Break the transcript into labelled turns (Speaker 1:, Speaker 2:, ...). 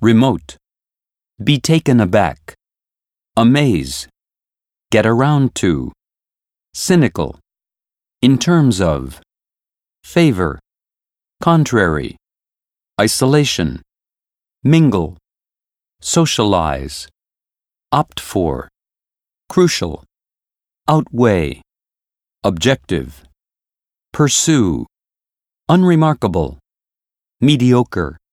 Speaker 1: remote, be taken aback, amaze, get around to, cynical, in terms of, favor, contrary, isolation, mingle, socialize, opt for, crucial, outweigh, objective, pursue, unremarkable, mediocre,